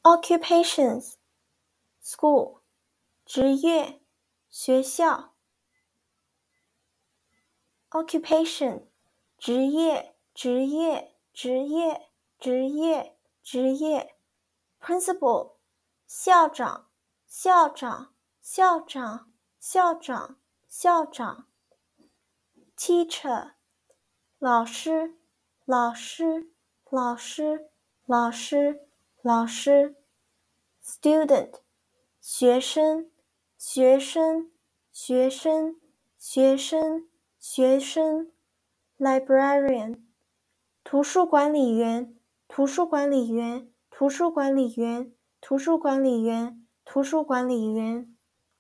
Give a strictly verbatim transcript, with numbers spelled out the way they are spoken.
occupations school 职业学校 occupation 职业职业职业职业职业 principal 校长校长校长校长校长 teacher 老师老师老师老师老师 student 学生学生学生学生学生 librarian 图书管理员图书管理员图书管理员图书管理员图书管理员